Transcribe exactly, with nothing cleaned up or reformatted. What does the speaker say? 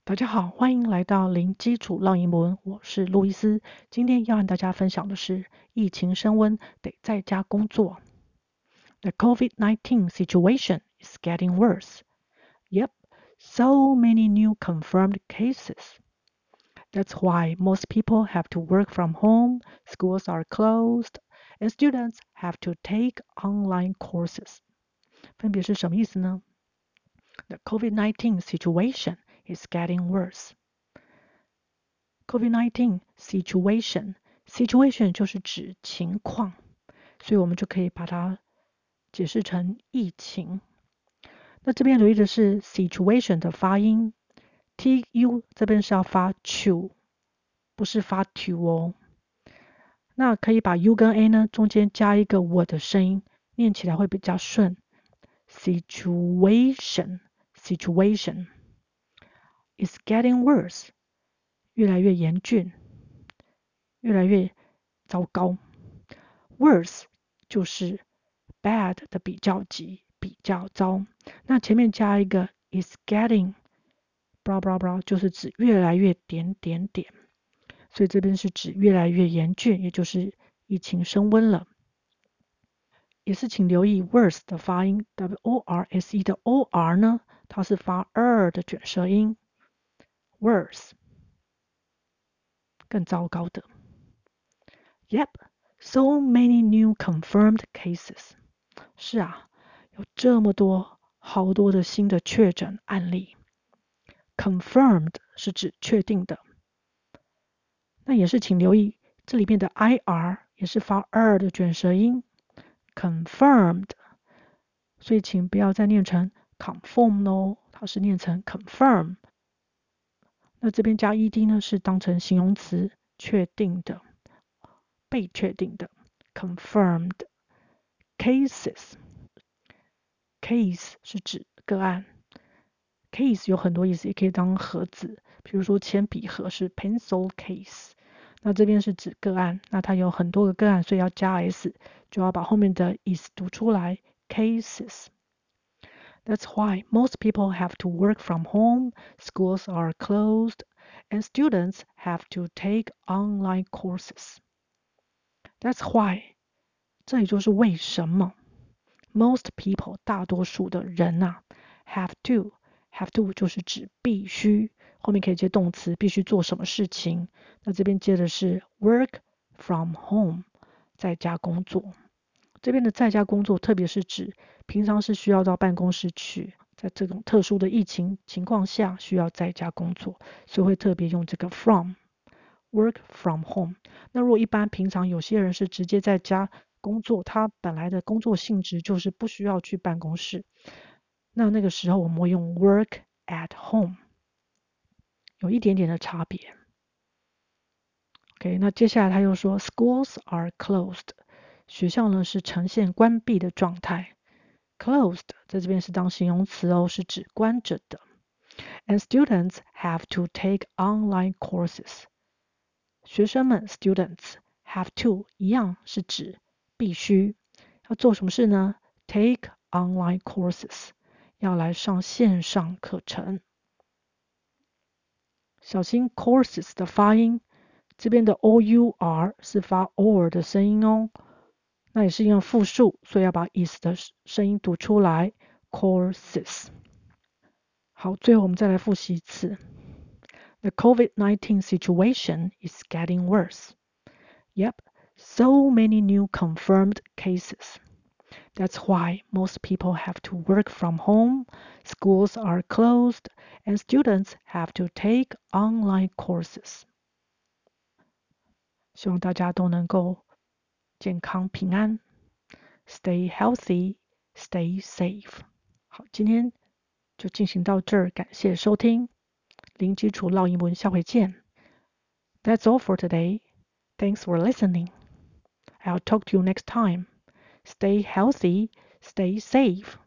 大家好，歡迎來到零基礎繞英文，我是路易斯。今天要和大家分享的是疫情升溫，得在家工作。The COVID nineteen situation is getting worse. Yep, so many new confirmed cases. That's why most people have to work from home, schools are closed, and students have to take online courses. 分別是什麼意思呢？ The COVID nineteen situation is getting worse. COVID nineteen situation, situation 就是指情況，所以我們就可以把它解釋成疫情。那這邊留意的是 situation 的發音 ，tu 這邊是要發 chu， 不是發 tu 哦。那可以把 u 跟 a 呢中間加一個我的聲音，念起來會比較順。Situation, situation is getting worse.越來越嚴峻，越來越糟糕。Worse 就是 bad 的比較級，比較糟。那前面加一個 is getting blah blah blah 就是指越來越點點點。所以這邊是指越來越嚴峻，也就是疫情升溫了。也是請留意 worse 的發音 W O R S E 的 O R 呢，它是發 er 的捲舌音 worse。更糟糕的。Yep, so many new confirmed cases. 是啊，有這麼多，好多的新的確診案例。Confirmed 是指確定的。那也是請留意，這裡面的 I R 也是發 er 的捲舌音。Confirmed， 所以請不要再念成 conform 哦，它是念成 confirm。那這邊加 ed 呢，是當成形容詞，確定的，被確定的 confirmed cases。 case 是指個案， case 有很多意思，也可以當盒子，比如說鉛筆盒是 pencil case。那這邊是指個案，那它有很多個個案，所以要加 s， 就要把後面的 is 讀出來 cases。That's why most people have to work from home, schools are closed, and students have to take online courses. That's why, 這也就是為什麼 most people 大多數的人啊 have to, have to 就是指必須，後面可以接動詞，必須做什麼事情。那這邊接的是 work from home, 在家工作。這邊的在家工作，特別是指平常是需要到辦公室去，在這種特殊的疫情情況下需要在家工作，所以會特別用這個 from work from home。那如果一般平常有些人是直接在家工作，他本來的工作性質就是不需要去辦公室，那那個時候我們會用 work at home， 有一點點的差別。OK， 那接下來他又說 schools are closed。學校呢是呈現關閉的狀態 ，closed 在這邊是當形容詞哦，是指關着的。And students have to take online courses。學生們 students have to 一樣是指必須要做什麼事呢 ？Take online courses 要來上線上課程。小心 courses 的發音，這邊的 O U R 是發 or 的聲音哦。那也是用複數，所以要把 is 的聲音讀出來 courses。好，最後我們再來複習一次。The COVID nineteen situation is getting worse. Yep, so many new confirmed cases. That's why most people have to work from home, schools are closed, and students have to take online courses. 希望大家都能夠健康平安 ，Stay healthy, stay safe。好，今天就進行到這兒，感謝收聽，零基礎繞英文，下回見。That's all for today. Thanks for listening. I'll talk to you next time. Stay healthy, stay safe.